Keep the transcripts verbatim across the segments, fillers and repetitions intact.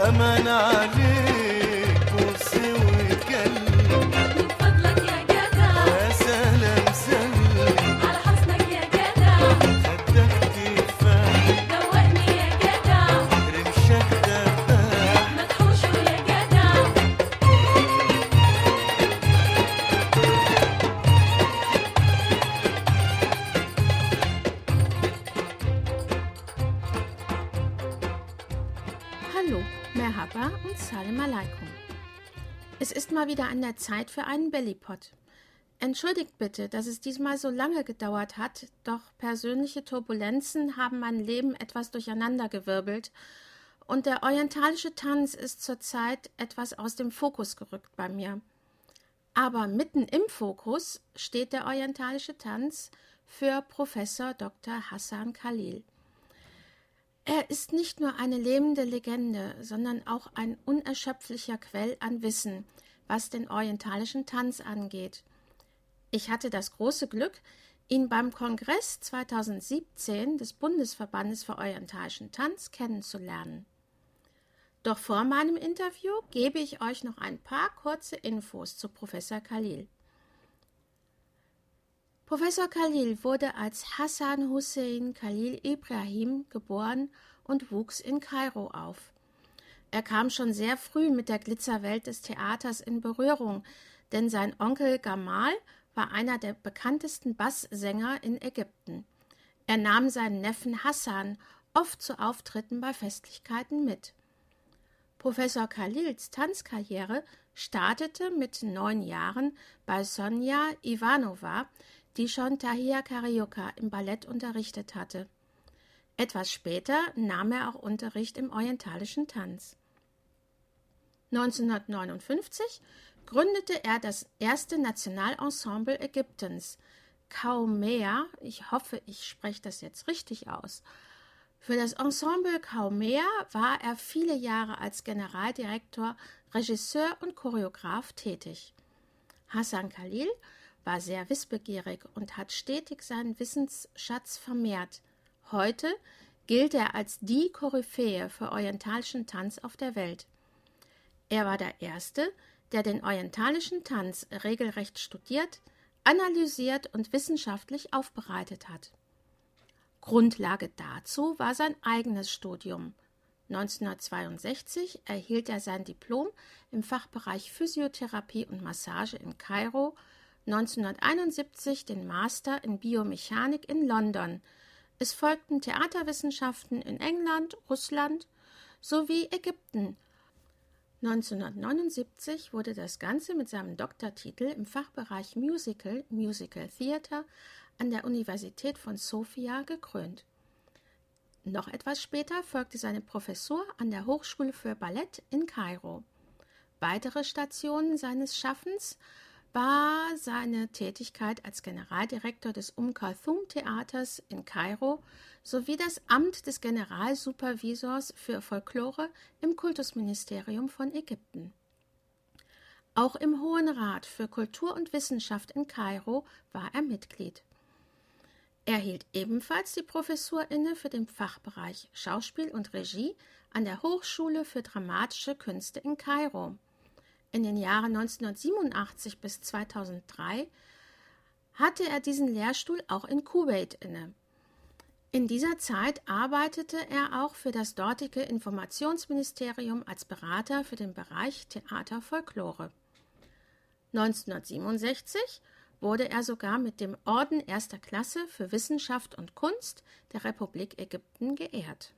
أمان عليك بص واتكلم من فضلك يا جدع يا سلام سلم على حسنك يا جدع خدك تفاح دوقني يا جدع رمشك دباح مدحوشه يا جدع Hallo, Merhaba und Salam Alaikum. Es ist mal wieder an der Zeit für einen Bellypod. Entschuldigt bitte, dass es diesmal so lange gedauert hat, doch persönliche Turbulenzen haben mein Leben etwas durcheinandergewirbelt und der orientalische Tanz ist zurzeit etwas aus dem Fokus gerückt bei mir. Aber mitten im Fokus steht der orientalische Tanz für Professor Doktor Hassan Khalil. Er ist nicht nur eine lebende Legende, sondern auch ein unerschöpflicher Quell an Wissen, was den orientalischen Tanz angeht. Ich hatte das große Glück, ihn beim Kongress zweitausendsiebzehn des Bundesverbandes für orientalischen Tanz kennenzulernen. Doch vor meinem Interview gebe ich euch noch ein paar kurze Infos zu Professor Khalil. Professor Khalil wurde als Hassan Hussein Khalil Ibrahim geboren und wuchs in Kairo auf. Er kam schon sehr früh mit der Glitzerwelt des Theaters in Berührung, denn sein Onkel Gamal war einer der bekanntesten Basssänger in Ägypten. Er nahm seinen Neffen Hassan oft zu Auftritten bei Festlichkeiten mit. Professor Khalils Tanzkarriere startete mit neun Jahren bei Sonja Ivanova, die schon Tahir Carioca im Ballett unterrichtet hatte. Etwas später nahm er auch Unterricht im orientalischen Tanz. neunzehnhundertneunundfünfzig gründete er das erste Nationalensemble Ägyptens, Kaumea, ich hoffe, ich spreche das jetzt richtig aus. Für das Ensemble Kaumea war er viele Jahre als Generaldirektor, Regisseur und Choreograf tätig. Hassan Khalil war sehr wissbegierig und hat stetig seinen Wissensschatz vermehrt. Heute gilt er als die Koryphäe für orientalischen Tanz auf der Welt. Er war der Erste, der den orientalischen Tanz regelrecht studiert, analysiert und wissenschaftlich aufbereitet hat. Grundlage dazu war sein eigenes Studium. neunzehnhundertzweiundsechzig erhielt er sein Diplom im Fachbereich Physiotherapie und Massage in Kairo, neunzehnhunderteinundsiebzig den Master in Biomechanik in London. Es folgten Theaterwissenschaften in England, Russland sowie Ägypten. neunzehnhundertneunundsiebzig wurde das Ganze mit seinem Doktortitel im Fachbereich Musical, Musical Theater an der Universität von Sofia gekrönt. Noch etwas später folgte seine Professur an der Hochschule für Ballett in Kairo. Weitere Stationen seines Schaffens war seine Tätigkeit als Generaldirektor des Umm-Kulthum-Theaters in Kairo sowie das Amt des Generalsupervisors für Folklore im Kultusministerium von Ägypten. Auch im Hohen Rat für Kultur und Wissenschaft in Kairo war er Mitglied. Er hielt ebenfalls die Professur inne für den Fachbereich Schauspiel und Regie an der Hochschule für Dramatische Künste in Kairo. In den Jahren neunzehnhundertsiebenundachtzig bis zweitausenddrei hatte er diesen Lehrstuhl auch in Kuwait inne. In dieser Zeit arbeitete er auch für das dortige Informationsministerium als Berater für den Bereich Theater Folklore. neunzehnhundertsiebenundsechzig wurde er sogar mit dem Orden erster Klasse für Wissenschaft und Kunst der Republik Ägypten geehrt.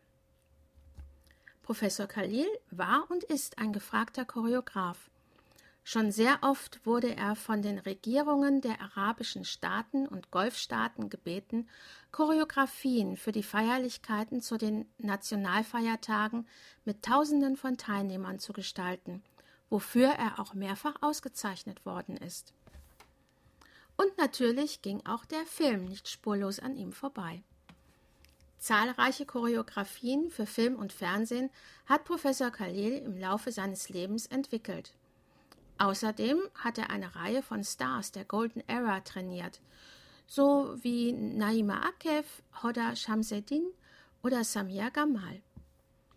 Professor Khalil war und ist ein gefragter Choreograf. Schon sehr oft wurde er von den Regierungen der arabischen Staaten und Golfstaaten gebeten, Choreografien für die Feierlichkeiten zu den Nationalfeiertagen mit Tausenden von Teilnehmern zu gestalten, wofür er auch mehrfach ausgezeichnet worden ist. Und natürlich ging auch der Film nicht spurlos an ihm vorbei. Zahlreiche Choreografien für Film und Fernsehen hat Professor Khalil im Laufe seines Lebens entwickelt. Außerdem hat er eine Reihe von Stars der Golden Era trainiert, so wie Naima Akif, Hoda Shamseddin oder Samia Gamal.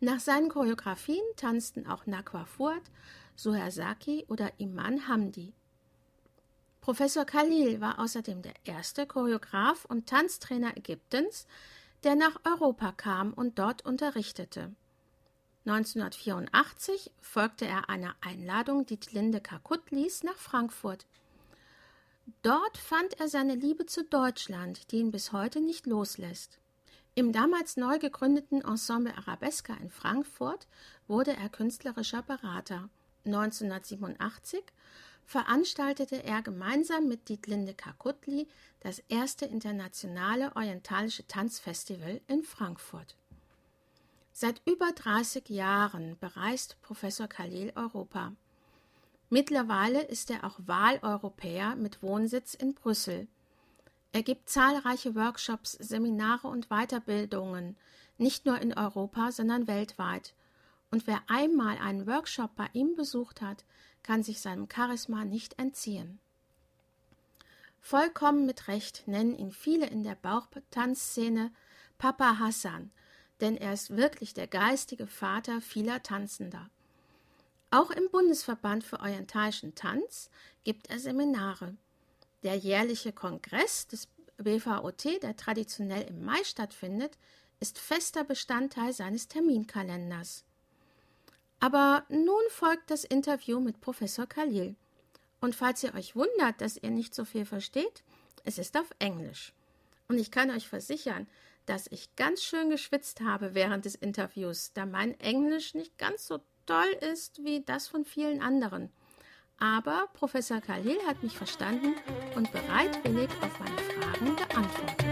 Nach seinen Choreografien tanzten auch Nakwa Fuad, Suher Saki oder Iman Hamdi. Professor Khalil war außerdem der erste Choreograf und Tanztrainer Ägyptens, der nach Europa kam und dort unterrichtete. neunzehnhundertvierundachtzig folgte er einer Einladung Dietlinde Kakutlis nach Frankfurt. Dort fand er seine Liebe zu Deutschland, die ihn bis heute nicht loslässt. Im damals neu gegründeten Ensemble Arabesca in Frankfurt wurde er künstlerischer Berater. neunzehnhundertsiebenundachtzig veranstaltete er gemeinsam mit Dietlinde Kakutli das erste internationale orientalische Tanzfestival in Frankfurt. Seit über dreißig Jahren bereist Professor Khalil Europa. Mittlerweile ist er auch Wahleuropäer mit Wohnsitz in Brüssel. Er gibt zahlreiche Workshops, Seminare und Weiterbildungen, nicht nur in Europa, sondern weltweit. Und wer einmal einen Workshop bei ihm besucht hat, kann sich seinem Charisma nicht entziehen. Vollkommen mit Recht nennen ihn viele in der Bauchtanzszene Papa Hassan, denn er ist wirklich der geistige Vater vieler Tanzender. Auch im Bundesverband für orientalischen Tanz gibt er Seminare. Der jährliche Kongress des B V O T, der traditionell im Mai stattfindet, ist fester Bestandteil seines Terminkalenders. Aber nun folgt das Interview mit Professor Khalil. Und falls ihr euch wundert, dass ihr nicht so viel versteht, es ist auf Englisch. Und ich kann euch versichern, dass ich ganz schön geschwitzt habe während des Interviews, da mein Englisch nicht ganz so toll ist wie das von vielen anderen. Aber Professor Khalil hat mich verstanden und bereitwillig auf meine Fragen geantwortet.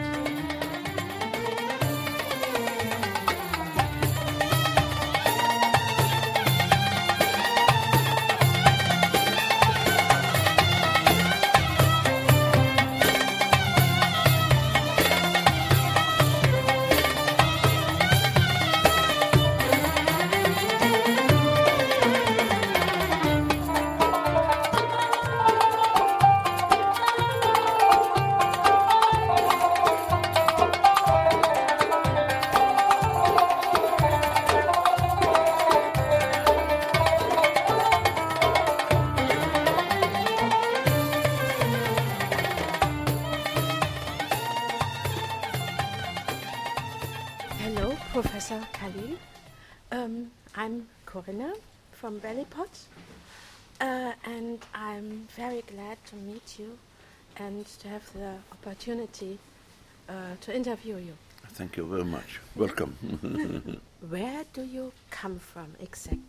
Hello, Professor Khalil. Um, I'm Corinna from Bellypot, uh, and I'm very glad to meet you and to have the opportunity uh, to interview you. Thank you very much. Welcome. Where do you come from exactly?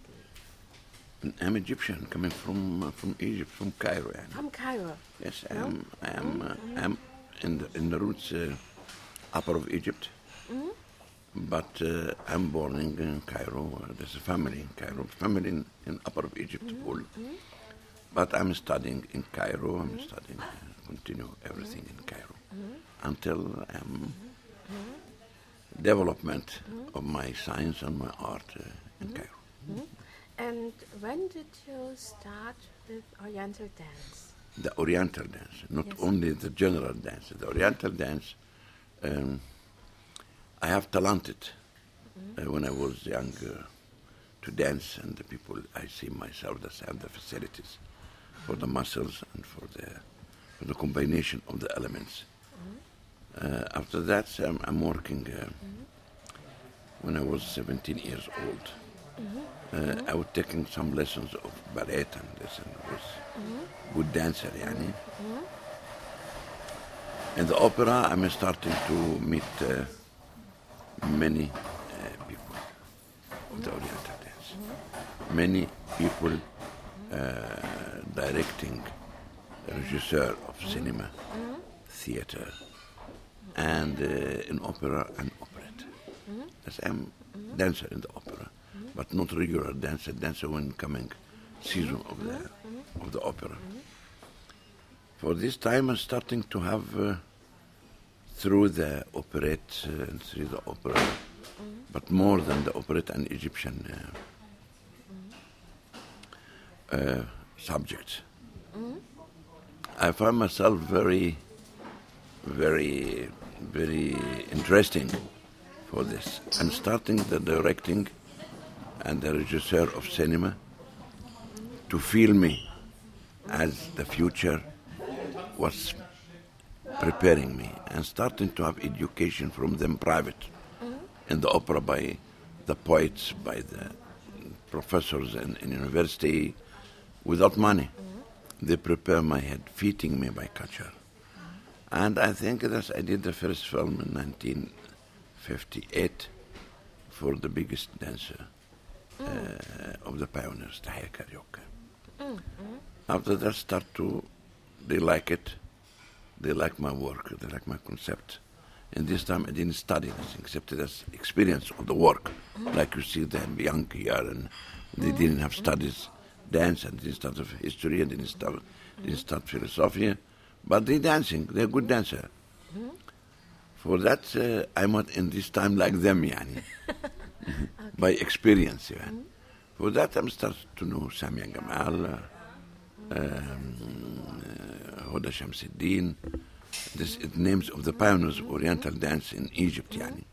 I'm Egyptian, coming from uh, from Egypt, from Cairo. يعني. From Cairo. Yes, I No? am. I am. Uh, I'm in the in the roots uh, upper of Egypt, but uh, I'm born in, in Cairo. Uh, there's a family in Cairo, family in, in upper of Egypt, all. But I'm studying in Cairo. I'm studying, uh, continue everything in Cairo until I'm development of my science and my art uh, in Cairo. And when did you start with Oriental dance? The Oriental dance, not Yes. only the general dance. The Oriental dance, um, I have talented uh, when I was young uh, to dance, and the people, I see myself that I have the facilities for the muscles and for the for the combination of the elements. Uh, after that, um, I'm working. Uh, when I was seventeen years old, uh, I was taking some lessons of ballet and listen. I was good dancer, yani. In the opera, I'm starting to meet uh, many uh, people of the Oriental dance. Many people uh, directing, regisseur of cinema, theater, and uh, in opera and operette. As I'm dancer in the opera, but not regular dancer. Dancer when coming season of the of the opera. For this time, I'm starting to have uh, through the operette uh, and through the opera, but more than the operette and Egyptian uh, uh, subjects. I find myself very, very, very interesting for this. I'm starting the directing and the regisseur of cinema to feel me as the future was preparing me and starting to have education from them private in the opera by the poets, by the professors in, in university without money. They prepare my head, feeding me by culture. And I think that I did the first film in nineteen fifty-eight for the biggest dancer uh, of the pioneers, Tahir Karaoke. After that, start to, they like it. They like my work. They like my concept. And this time I didn't study this, except as experience of the work. Like you see them young here, and they didn't have studies dance, and didn't start of history, and didn't start, didn't start philosophy. But they dancing. They're good dancer. For that, uh, I'm not in this time like them, yani. By experience, yeah. For that, I'm starting to know Samia Gamal, uh, um, uh, Hoda Shamsuddin, this is names of the pioneers of Oriental dance in Egypt, yani.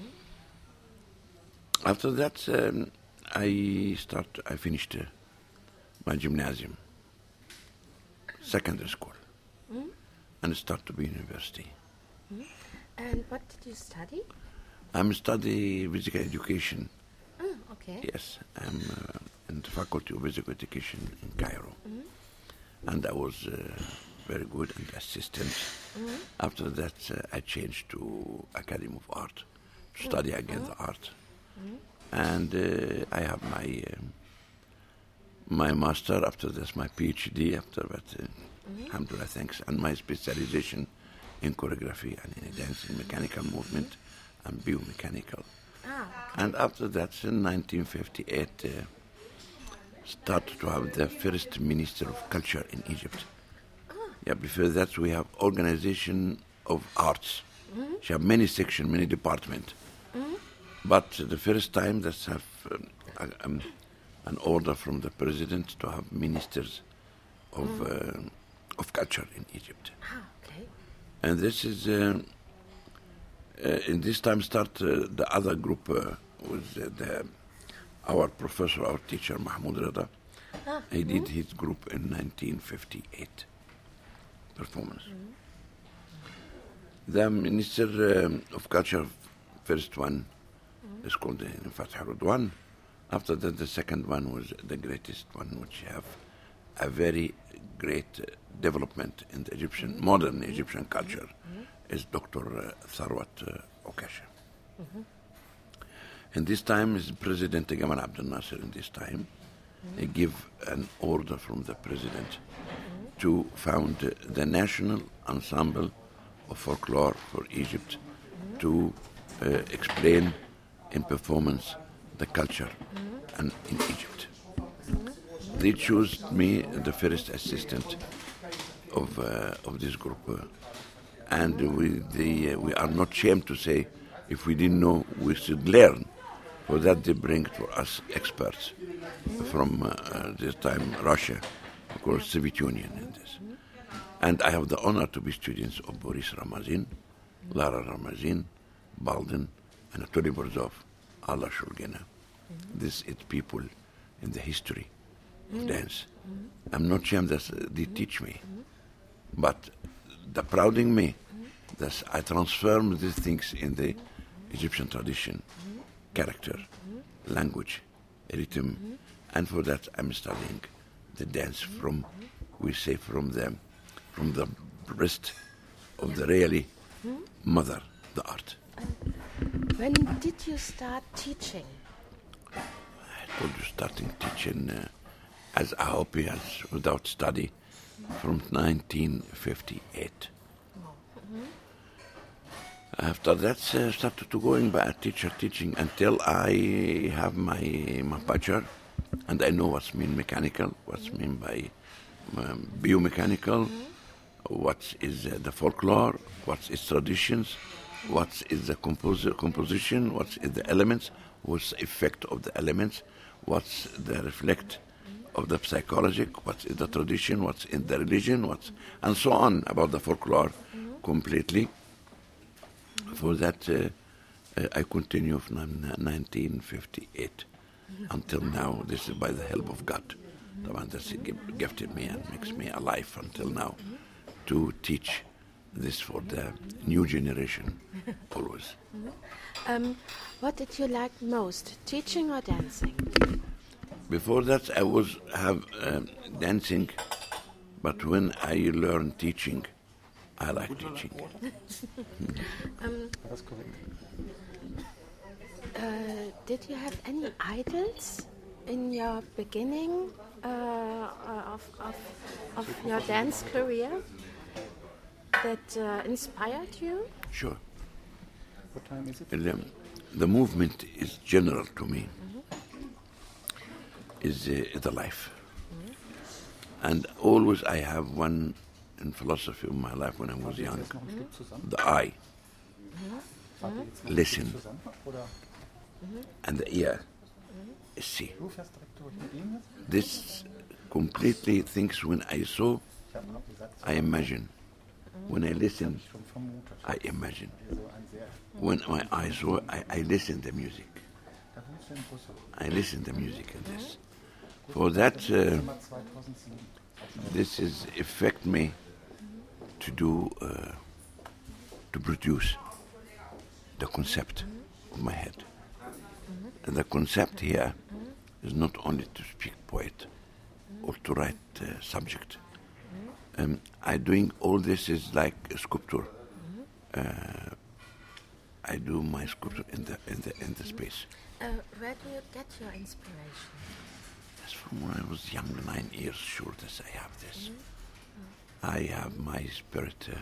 After that, um, I start. I finished uh, my gymnasium, secondary school, and start to be university. And what did you study? I'm study physical education. Oh, okay. Yes, I'm uh, in the faculty of physical education in Cairo, and I was uh, very good and assistant. After that, uh, I changed to Academy of Art to study again the art, and uh, I have my um, my master. After this, my PhD. After that, uh, alhamdulillah, thanks, and my specialization in choreography and in dance, in mechanical movement and biomechanical. Ah, And after that, in nineteen fifty-eight, uh, started to have the first Minister of Culture in Egypt. Yeah, before that, we have Organization of Arts. She have many sections, many departments. But the first time that have um, a- um, an order from the president to have ministers of uh, of culture in Egypt. ah, okay. And this is, uh, uh, in this time start uh, the other group uh, was uh, the, our professor, our teacher, Mahmoud Rada. He did his group in nineteen fifty-eight performance. The Minister um, of Culture, first one, is called uh, Fatah Rudwan. After that, the second one was the greatest one, which have a very great uh, development in the Egyptian, modern Egyptian culture, is Doctor Uh, Tharwat uh, Okasha. And this time is President Gamal Abdel Nasser. In this time, he give an order from the president to found uh, the National Ensemble of Folklore for Egypt to uh, explain in performance the culture and in Egypt. They chose me the first assistant of uh, of this group, uh, and we the, uh, we are not ashamed to say if we didn't know we should learn. For that they bring to us experts from uh, uh, this time Russia, of course Soviet Union in this. And I have the honor to be students of Boris Ramazin, Lara Ramazin, Baldin, Anatoly Borzov, Allah Shulgina. This is people in the history of dance. I'm not ashamed that uh, they teach me, but the prouding me that I transform these things in the Egyptian tradition, character, language, rhythm, and for that I'm studying the dance from, we say from the, from the breast of the really mother, the art. When did you start teaching? I told you starting teaching uh, as a hobby, as without study, from nineteen fifty-eight. After that, uh, started to going by a teacher teaching until I have my my bachelor, and I know what's mean mechanical, what's mean by um, biomechanical, what is uh, the folklore, what is traditions, what is the compos- composition, what is the elements, what's the effect of the elements, what's the reflect of the psychology, what is the tradition, what's in the religion, what's and so on about the folklore completely. For that, uh, uh, I continue from nineteen fifty-eight until now. This is by the help of God, the one that's gi- gifted me and makes me alive until now, to teach this for the new generation always. Um, what did you like most, teaching or dancing? Before that, I was have um, dancing, but when I learned teaching, I like teaching. Uh, did you have any idols in your beginning uh, of, of, of your dance career that uh, inspired you? Sure. What time is it? The, the movement is general to me, is uh, the life. And always I have one in philosophy of my life when I was young, Jetzt noch ein Stück zusammen. the eye, Fahrt ihr jetzt noch ein Listen. Stück zusammen? Oder and the ear is see. du fährst direkt durch mit ihm jetzt? This completely things when I saw, Ich habe noch gesagt, I imagine. When I listen, schon vermutet. I imagine. So ein sehr. When my eyes saw, I, I listen the music. Da wohnst du in Brüssel. I listen the music in this. For that, uh, Sommer zweitausendsieben. this is affect me to do, uh, to produce the concept of my head. And the concept here is not only to speak poet or to write uh, subject. Um, I doing all this is like a sculpture. Uh, I do my sculpture in the in the in the space. Uh, where do you get your inspiration? That's from when I was young, nine years, sure that I have this. I have my spirit uh,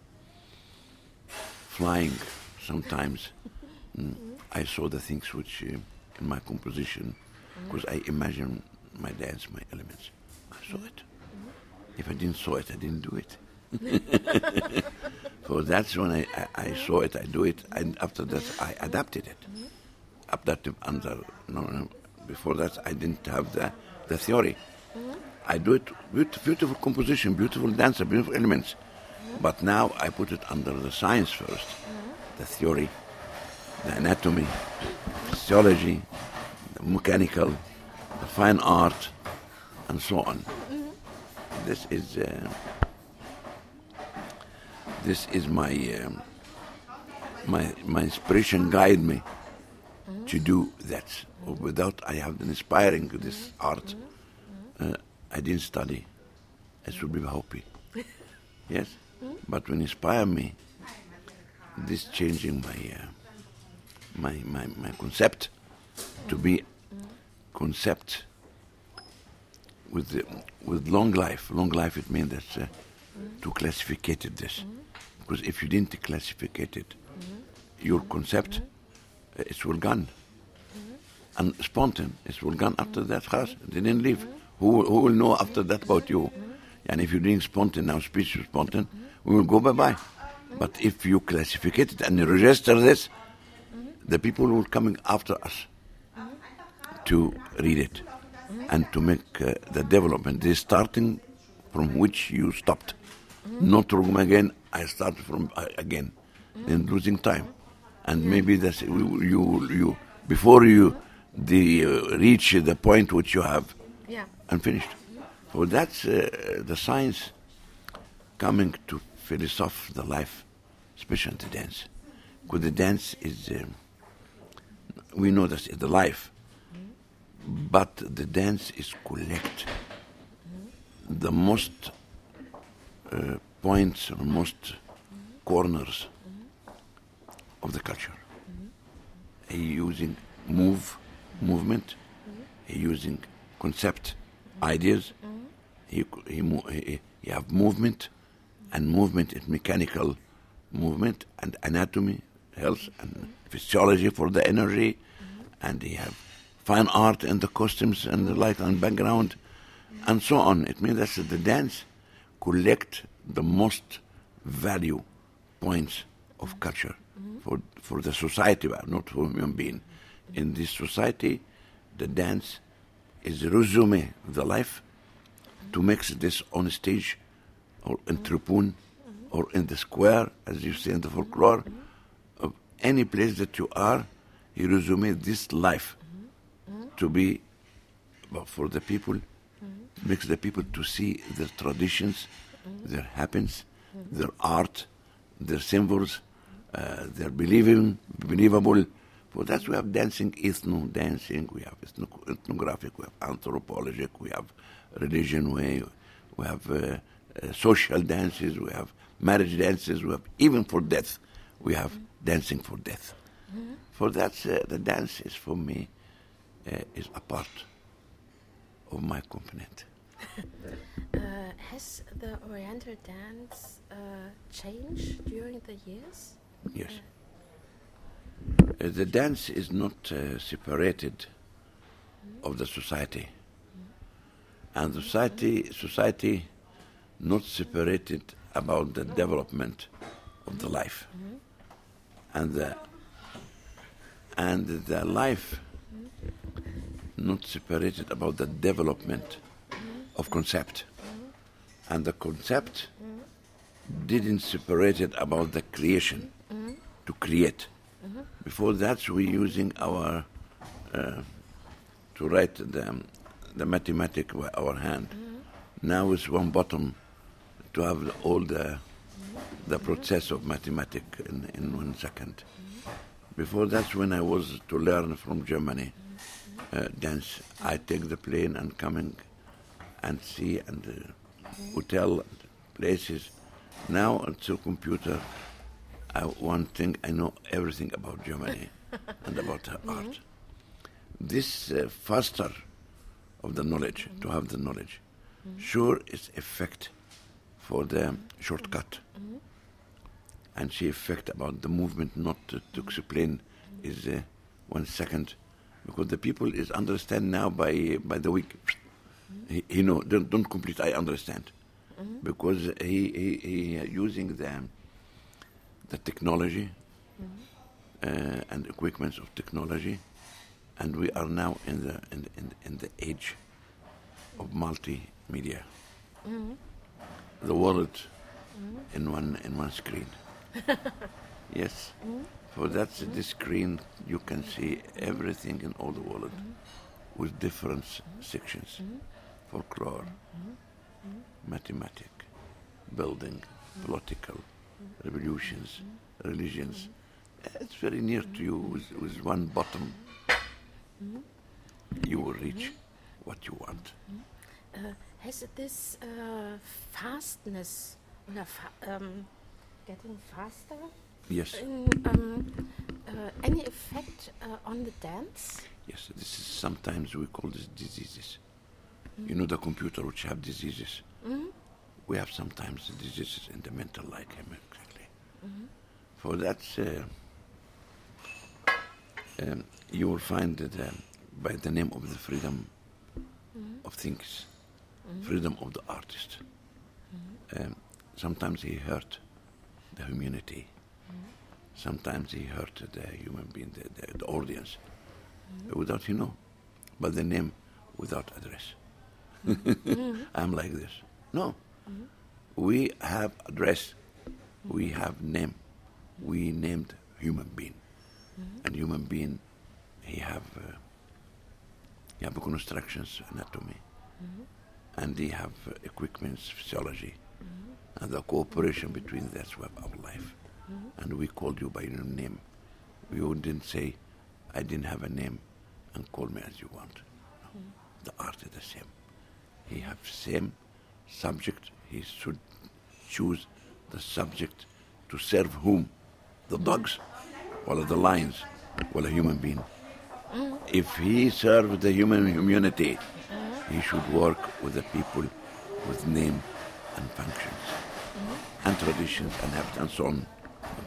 flying sometimes. Mm, I saw the things which uh, in my composition, because I imagine my dance, my elements. I saw it. If I didn't saw it, I didn't do it. So that's when I, I, I saw it, I do it, and after that I adapted it. Adapted under, no, no, before that I didn't have the, the theory. I do it, beaut- beautiful composition, beautiful dancer, beautiful elements. But now I put it under the science first, the theory, the anatomy, physiology, the mechanical, the fine art, and so on. This is uh, this is my um, my my inspiration guide me to do that. Without I have been inspiring this art, uh, I didn't study. I should be happy. Yes, but when inspire me, this changing my uh, my my my concept to be concept with the, with long life. Long life it means that uh, to classificate it this, because if you didn't classificate it, your concept uh, it will gone, and spontaneous it will gone after that. Khas, they didn't live. Who who will know after that about you? And if you're doing spontaneous now, speech is spontaneous, we will go bye bye. But if you classificate it and you register this, the people will coming after us to read it and to make uh, the development. They're starting from which you stopped. Not from again, I start from uh, again. Then losing time. And maybe that's you, you, you before you the, uh, reach the point which you have Yeah. and finished. So that's uh, the science coming to philosoph the life, especially the dance. Because the dance is, um, we know that it's the life, but the dance is collect the most uh, points or most corners of the culture. He using move, movement, he using concept, ideas, he, he, mo- he, he have movement, and movement is mechanical movement, and anatomy, health, and physiology for the energy, and he have fine art and the costumes and the light and background, and so on. It means that the dance collect the most value points of culture for for the society, but not for human being. In this society, the dance is resume the life to mix this on stage or in tribune or in the square, as you say in the folklore, of any place that you are, you resume this life to be, well, for the people, makes the people to see their traditions, their happens, their art, their symbols, uh, their believing, believable. For that we have dancing, ethno dancing, we have ethno- ethnographic, we have anthropologic, we have religion way, we have uh, uh, social dances, we have marriage dances, we have even for death, we have dancing for death. For that, uh, the dance is for me uh, is a part of my component. Uh, has the Oriental dance uh, changed during the years? Yes. Uh, the dance is not uh, separated of the society, and the society society not separated about the development of the life, and the and the life not separated about the development of concept, and the concept didn't separate it about the creation to create. Before that, we're using our uh, to write the the mathematic with our hand. Now it's one button to have all the the process of mathematic in, in one second. Before that, when I was to learn from Germany uh, dance, I take the plane and coming and see and uh, hotel and places. Now it's a computer. I, one thing, I know everything about Germany and about her art. This uh, faster of the knowledge, to have the knowledge, sure is effect for the shortcut. And she effect about the movement not to, to explain is uh, one second, because the people is understand now by by the week. He, he know don't, don't complete. I understand because he he, he using the the technology uh, and equipments of technology, and we are now in the in the, in, in the age of multimedia. The world in one in one screen. Yes. For that this screen you can see everything in all the world with different sections. Folklore, mathematic, building, political, revolutions, religions. It's very near to you. With, with one button you will reach what you want. Uh, has this uh, fastness, or fa- um, getting faster, Yes. in, um, uh, any effect uh, on the dance? Yes, this is sometimes we call this diseases. You know the computer which have diseases. We have sometimes diseases in the mental like him exactly. For that, uh, um, you will find that uh, by the name of the freedom of things, freedom of the artist. Um, sometimes he hurt the humanity. Sometimes he hurt the human being, the, the, the audience, without you know, but the name without address. I'm like this. No, we have address, we have name, we named human being, and human being, he have uh, he have constructions, anatomy, and they have uh, equipments, physiology, and the cooperation between that's what our life. And we called you by your name. We didn't say, I didn't have a name, and call me as you want. No. The art is the same. He have same subject. He should choose the subject to serve whom? The dogs, or the lions, or a human being. If he serves the human community, he should work with the people with name and functions, and traditions and habits and so on.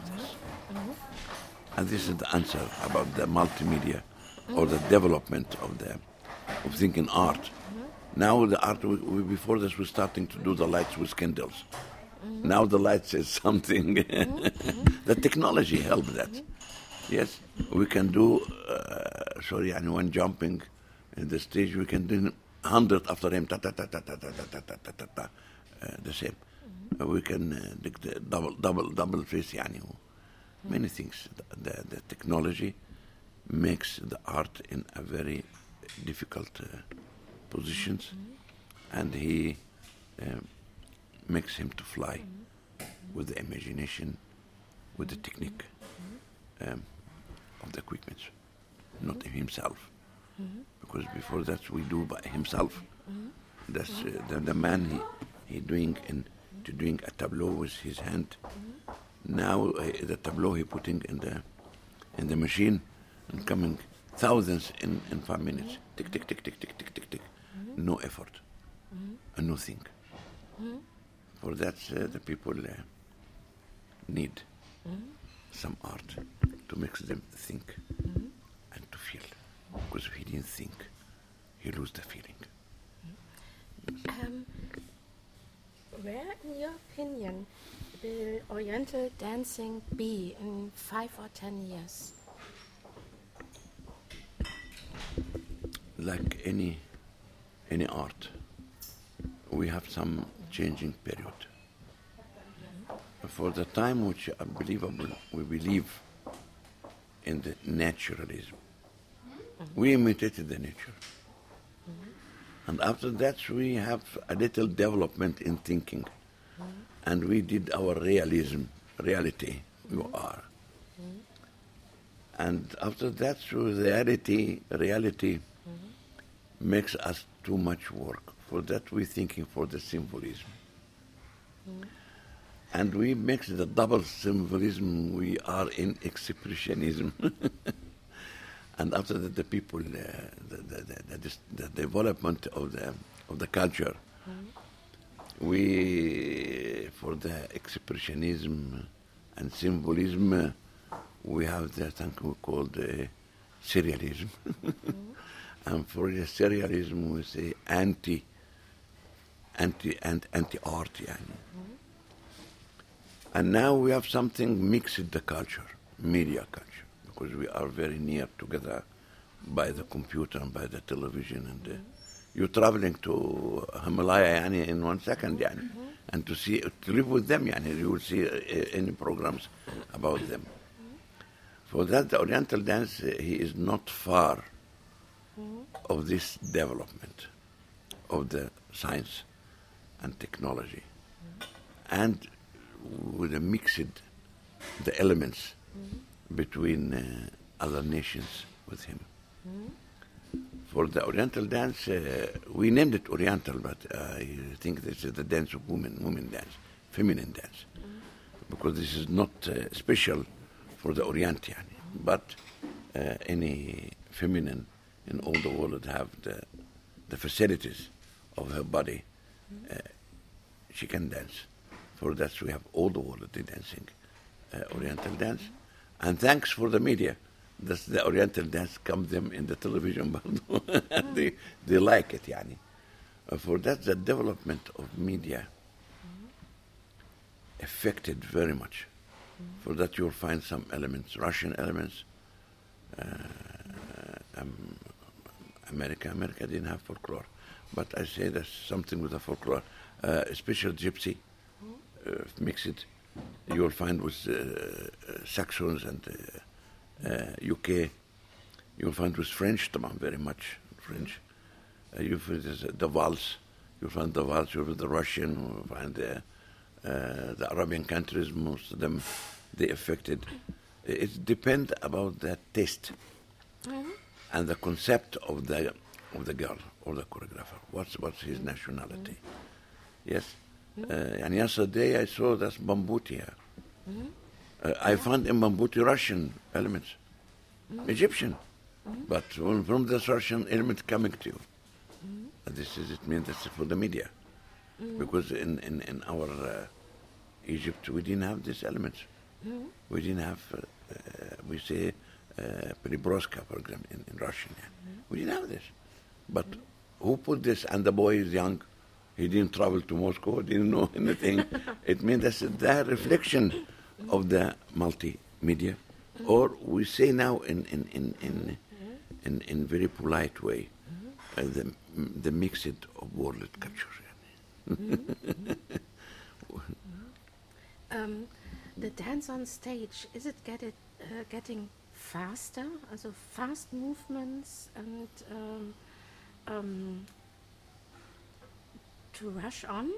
And this is the answer about the multimedia or the development of the of thinking art. Now the art, we, we, before this, we're starting to do the lights with candles. Now the lights is something. The technology helped that. Yes, we can do. Uh, sorry, and when jumping in the stage, we can do hundred after him. Ta ta ta ta ta ta ta ta ta ta ta. Uh, the same. Uh, we can uh, the double double double face. Yani, many things. The, the, the technology makes the art in a very difficult uh, positions, and he um, makes him to fly with the imagination, with the technique um, of the equipment, not himself. Because before that we do by himself. That's uh, the, the man he he doing in to doing a tableau with his hand. Now uh, the tableau he putting in the in the machine and coming thousands in, in five minutes. Tick tick tick tick tick tick tick tick. No effort and nothing. For that uh, the people uh, need some art to make them think and to feel. Because if he didn't think, he lose the feeling. Um, where, in your opinion, will Oriental dancing be in five or ten years? Like any any art, we have some changing period. For the time which unbelievable, we believe in the naturalism. We imitated the nature. And after that, we have a little development in thinking. And we did our realism, reality, you are. And after that, through reality, reality makes us too much work. For that, we're thinking for the symbolism. And we mix the double symbolism, we are in expressionism. And after that, the people, uh, the, the, the, the, the development of the of the culture, we, for the expressionism and symbolism, uh, we have the thing we call the serialism. And for the serialism, we say anti, anti, and anti-art, yani. And now we have something mixed the culture, media culture, because we are very near together by the computer and by the television. And uh, you're traveling to Himalaya yani, in one second, yani, and to see, to live with them, yani, you will see uh, any programs about them. For that, the Oriental dance, uh, he is not far of this development of the science and technology. And with a mixed the elements between uh, other nations with him. For the Oriental dance, uh, we named it Oriental, but I think this is the dance of women, women dance, feminine dance, because this is not uh, special for the Orient, yani. But uh, any feminine in all the world have the, the facilities of her body, uh, she can dance. For that, we have all the world dancing, uh, Oriental dance. And thanks for the media. That's the Oriental dance comes them in the television, but they, they like it, yani. Uh, for that, the development of media affected very much. For that, you'll find some elements, Russian elements, uh, um, America. America didn't have folklore, but I say there's something with the folklore, uh, especially gypsy. Uh, mix it, you'll find with uh, uh, Saxons and uh, uh, U K. You'll find with French, very much French. Uh, you find uh, the waltz. You'll find the waltz. You'll find the Russian. You'll find the, uh, the Arabian countries. Most of them, they affected. It depends about the taste mm-hmm. and the concept of the of the girl or the choreographer. What's what's his nationality? Mm-hmm. Yes. Uh, and yesterday I saw that's Bambuti here. Mm-hmm. Uh, I found in Bambuti Russian elements, mm-hmm. Egyptian, mm-hmm. but from, from this Russian element coming to you. Mm-hmm. Uh, this is it means that's for the media, mm-hmm. because in in, in our uh, Egypt we didn't have these elements. Mm-hmm. We didn't have uh, uh, we say uh, Peribroska, for example, in, in Russian. Yeah. Mm-hmm. We didn't have this, but mm-hmm. who put this? And the boy is young. He didn't travel to Moscow, didn't know anything. It means that's the reflection of the multimedia. Or we say now in in in in, in, in very polite way, uh, the the mixed of world culture. um, the dance on stage, is it get it, uh, getting faster, also fast movements and um, um, to rush on?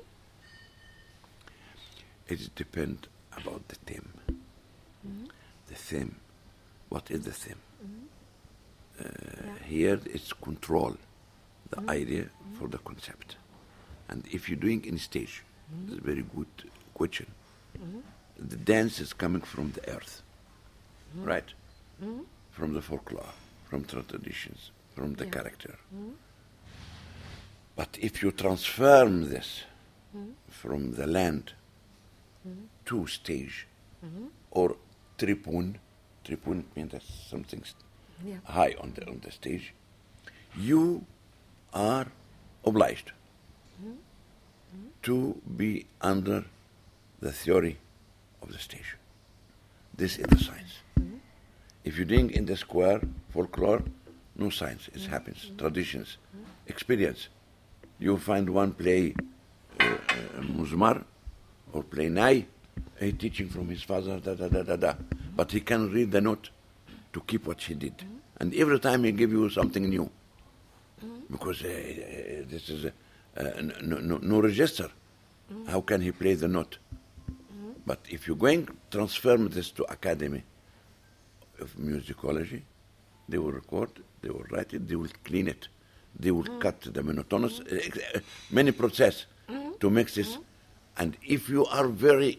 It depends about the theme. The theme. What is the theme? Uh, Here it's control the idea for the concept. And if you're doing in stage, it's a very good question. The dance is coming from the earth, right? From the folklore, from the traditions, from the Yeah. character. But if you transform this from the land to stage or tribune, tribune means that's something st- Yeah. high on the on the stage, you are obliged to be under the theory of the stage. This is the science. If you're doing in the square folklore, no science. It happens. Traditions, experience. You find one play uh, uh, muzmar or play nai, he teaching from his father, da da da da da. But he can read the note to keep what he did. And every time he give you something new. Because uh, uh, this is a, uh, no, no, no register. How can he play the note? But if you're going to transform this to academy of musicology, they will record, they will write it, they will clean it, they will cut the monotonous, uh, uh, many process to make this. And if you are very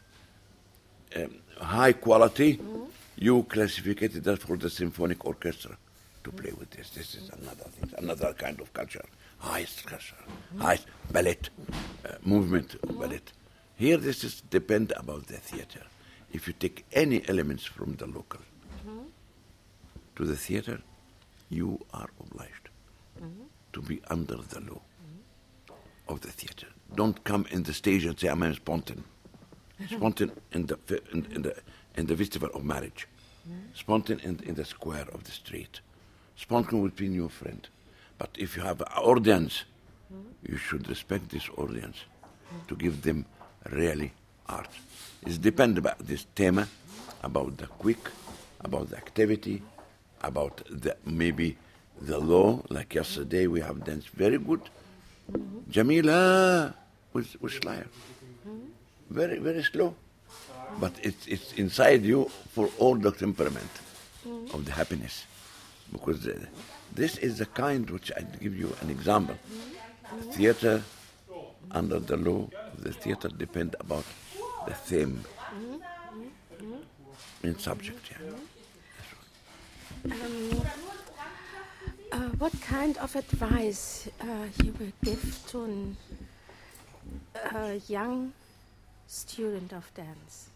um, high quality, you classificate that for the symphonic orchestra to play with this. This is another thing, another kind of culture, highest culture, highest ballet, uh, movement of ballet. Here this is depend about the theater. If you take any elements from the local to the theater, you are obliged to be under the law of the theater. Don't come in the stage and say, I'm a spontan. Spontan in the, fe- in, in the in the festival of marriage. Spontan in, in the square of the street. Spontan would be your friend. But if you have an audience, you should respect this audience to give them really art. It depends about this theme, about the quick, about the activity, about the maybe the law. Like yesterday, we have danced very good. Jamila with with Schleier. Very very slow, but it's it's inside you for all the temperament of the happiness, because uh, this is the kind which I give you an example. Theater under the law of the theater depend about the theme in subject. Yeah. Um, uh, what kind of advice uh, you will give to an, a young student of dance?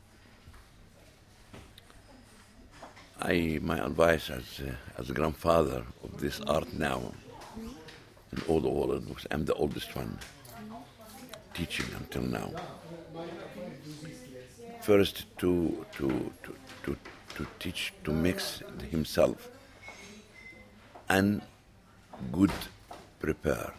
I my advice as uh, as a grandfather of this art now in all the world, because I'm the oldest one teaching until now. First to to to to, to teach to mix himself and good prepare.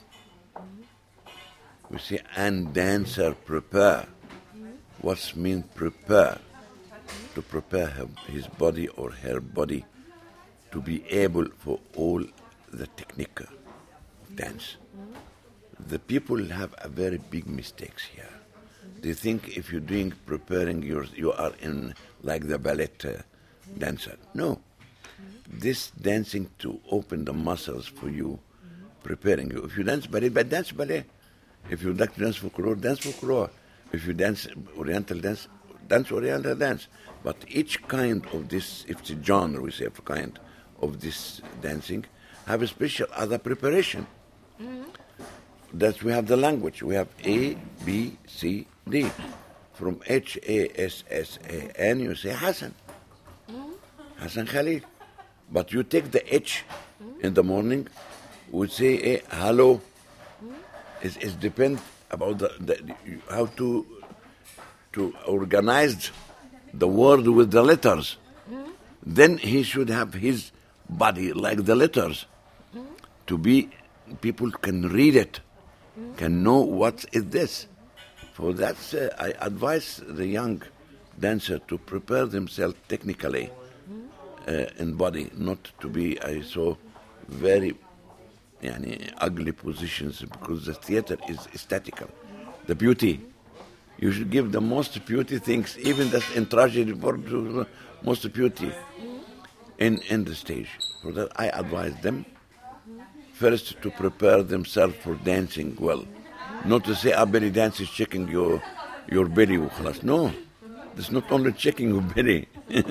We say and dancer prepare. What's mean prepare? To prepare her, his body or her body to be able for all the technique of dance. The people have a very big mistakes here. They think if you're doing preparing, your, you are in like the ballet uh, dancer. No. This dancing to open the muscles for you, preparing you. If you dance ballet, but dance ballet. If you like to dance folklore, dance folklore. If you dance oriental dance, dance oriental dance. But each kind of this, if it's a genre, we say of kind of this dancing, have a special other preparation. Mm-hmm. That we have the language. We have A, B, C, D. From H, A, S, S, A, N, you say Hassan. Mm-hmm. Hassan Khalil. But you take the H mm-hmm. in the morning, we say A, hello. Mm-hmm. It, it depends about the, the how to to organize the word with the letters. Mm-hmm. Then he should have his body like the letters mm-hmm. to be, people can read it, mm-hmm. can know what is this. For that, uh, I advise the young dancer to prepare themselves technically, mm-hmm. uh, in body, not to be, I saw, very yani, ugly positions, because the theater is aesthetical. The beauty. You should give the most beauty things, even that's in tragedy, for the most beauty in, in the stage. For that, I advise them first to prepare themselves for dancing well. Not to say, ah, belly dance is checking your, your belly. وخلاص. No, this is not only checking your belly.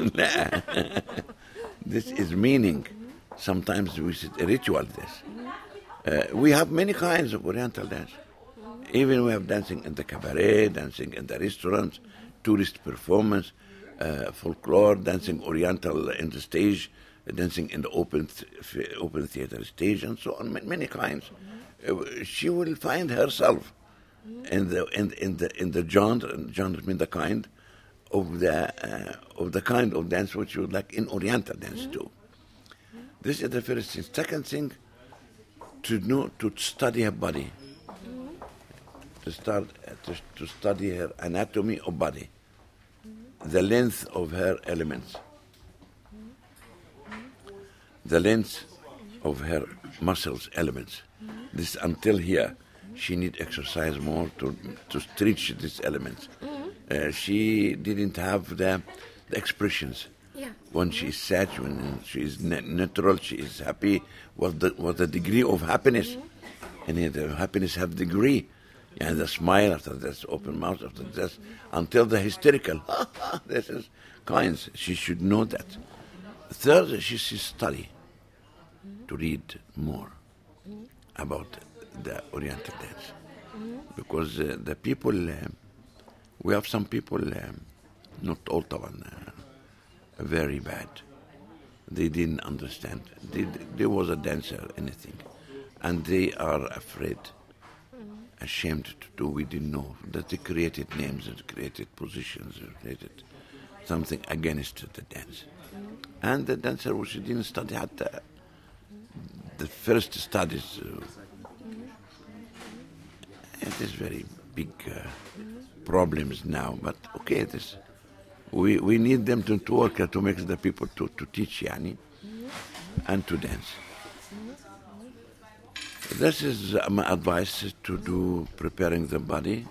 This is meaning. Sometimes we say a ritual this. Uh, we have many kinds of Oriental dance. Even we have dancing in the cabaret, dancing in the restaurants, tourist performance, uh, folklore, dancing Oriental in the stage, dancing in the open th- open theater stage, and so on. Many kinds. Uh, she will find herself in the in, in the in the genre. Genre means the kind of the uh, of the kind of dance which you would like in Oriental dance too. This is the first thing. Second thing, to know to study her body. To start uh, to, to study her anatomy of body, the length of her elements, the length of her muscles elements. This until here, she need exercise more to to stretch these elements. Uh, she didn't have the, the expressions. Yeah. When she is sad, when she is na- natural, she is happy. What the what the degree of happiness, and here the happiness have degree. And the smile after this, open mouth after this, until the hysterical. This is kinds. She should know that. Third, she should study to read more about the Oriental dance, because uh, the people, uh, we have some people, um, not all طبعا, uh, very bad. They didn't understand. They, there was a dancer, anything, and they are afraid. Ashamed to do, we didn't know that they created names and created positions and created something against the dance. And the dancer, she didn't study at the, the first studies. Uh, it is very big uh, problems now, but okay, this we we need them to, to work uh, to make the people to, to teach yani and to dance. This is uh, my advice to do preparing the body,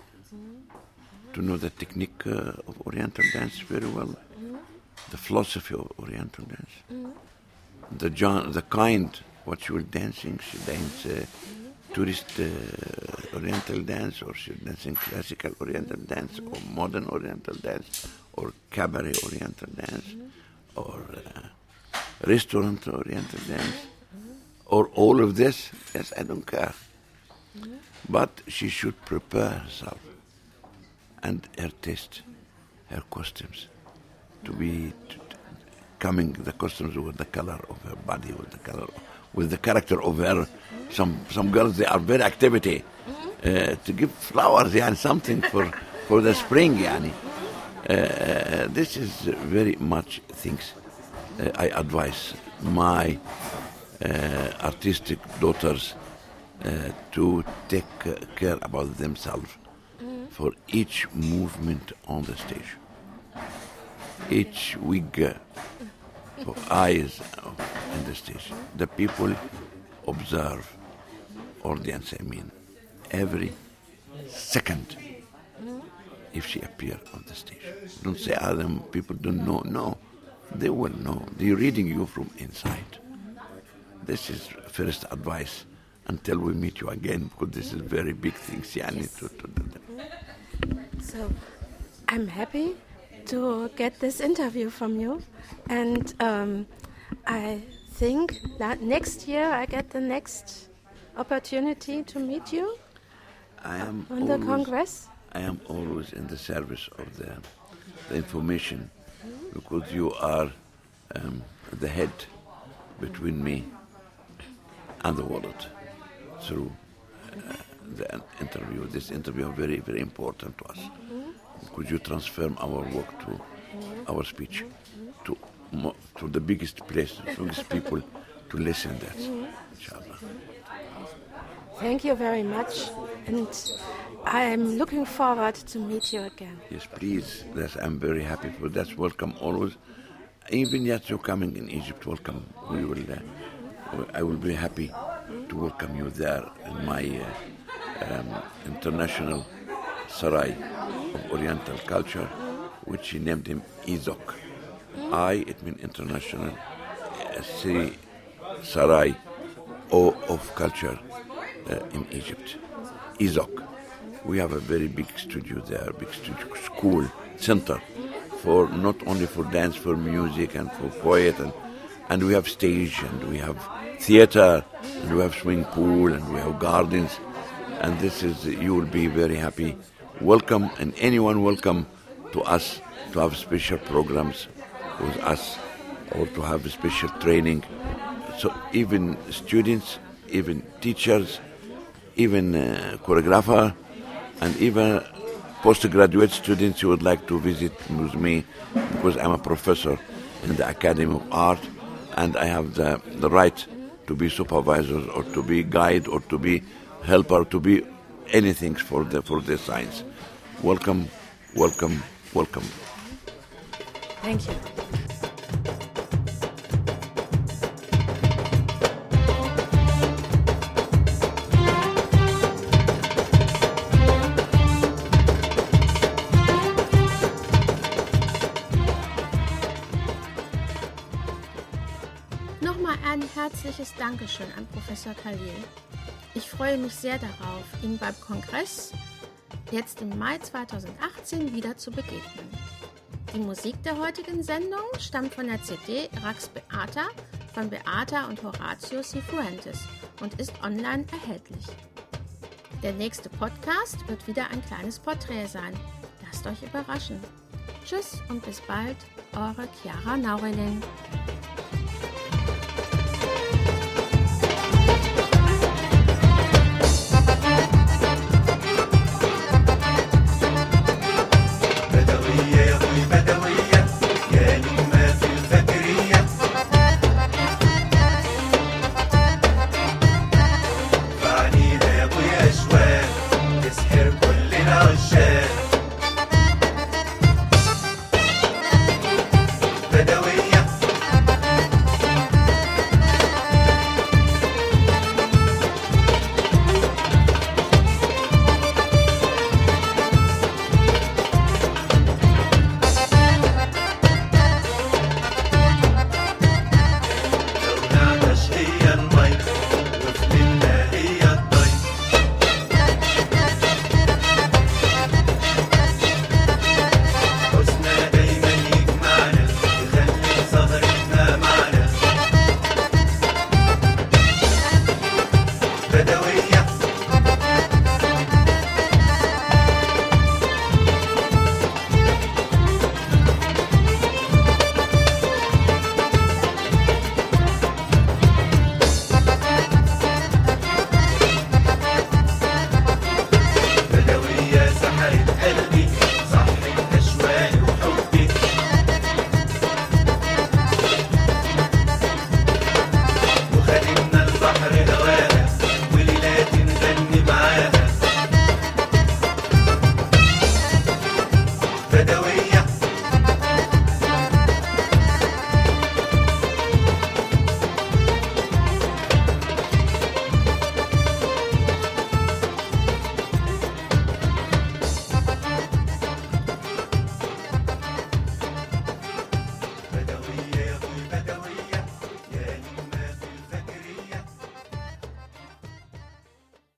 to know the technique uh, of Oriental dance very well, the philosophy of Oriental dance, the genre, the kind what she will dancing. She dance uh, tourist uh, Oriental dance, or she dancing classical Oriental dance, or modern Oriental dance, or cabaret Oriental dance, or uh, restaurant Oriental dance. Or all of this, yes, I don't care. Mm-hmm. But she should prepare herself and her taste, her costumes, to be to, to coming the costumes with the color of her body, with the color, with the character of her. Mm-hmm. Some some girls, they are very activity mm-hmm. uh, to give flowers, yeah, and something for for the spring, yani. Uh, this is very much things uh, I advise my. Uh, artistic daughters uh, to take uh, care about themselves mm-hmm. for each movement on the stage, each wig uh, for eyes on the stage. The people observe, audience I mean, every second if she appear on the stage. Don't say, ah, them people don't know. No, they will know. They're reading you from inside. This is first advice until we meet you again, because this is very big things. Yeah, yes. to, to do that. So I'm happy to get this interview from you, and um, I think that next year I get the next opportunity to meet you I am on always, the Congress. I am always in the service of the, the information, because you are um, the head between me and the world through uh, the interview. This interview is very, very important to us. Mm-hmm. Could you transfer our work to mm-hmm. our speech, mm-hmm. to mo- to the biggest place, the biggest people to listen that, mm-hmm. inshallah. Thank you very much, and I'm looking forward to meet you again. Yes, please. Yes, I'm very happy for that. Welcome always. even yet you're coming in Egypt, welcome. We will. Uh, I will be happy to welcome you there in my uh, um, international Sarai of Oriental culture, which he named him Izok. I, it means international. Uh, C, Sarai, O of culture uh, in Egypt. Izok. We have a very big studio there, big studio, school, center, for not only for dance, for music and for poet, and, and we have stage, and we have theater, and we have swimming pool, and we have gardens, and this is, you will be very happy. Welcome, and anyone welcome to us to have special programs with us, or to have special training. So even students, even teachers, even uh, choreographer, and even postgraduate students who would like to visit with me, because I'm a professor in the Academy of Art, and I have the, the right to be supervisor or to be guide or to be helper, to be anything for the for the science. Welcome, welcome, welcome. Thank you. Nochmal ein herzliches Dankeschön an Professor Khalil. Ich freue mich sehr darauf, Ihnen beim Kongress jetzt im Mai zweitausendachtzehn wieder zu begegnen. Die Musik der heutigen Sendung stammt von der C D Rax Beata von Beata und Horatio Cifuentes und ist online erhältlich. Der nächste Podcast wird wieder ein kleines Porträt sein. Lasst euch überraschen. Tschüss und bis bald, eure Chiara Naurelin.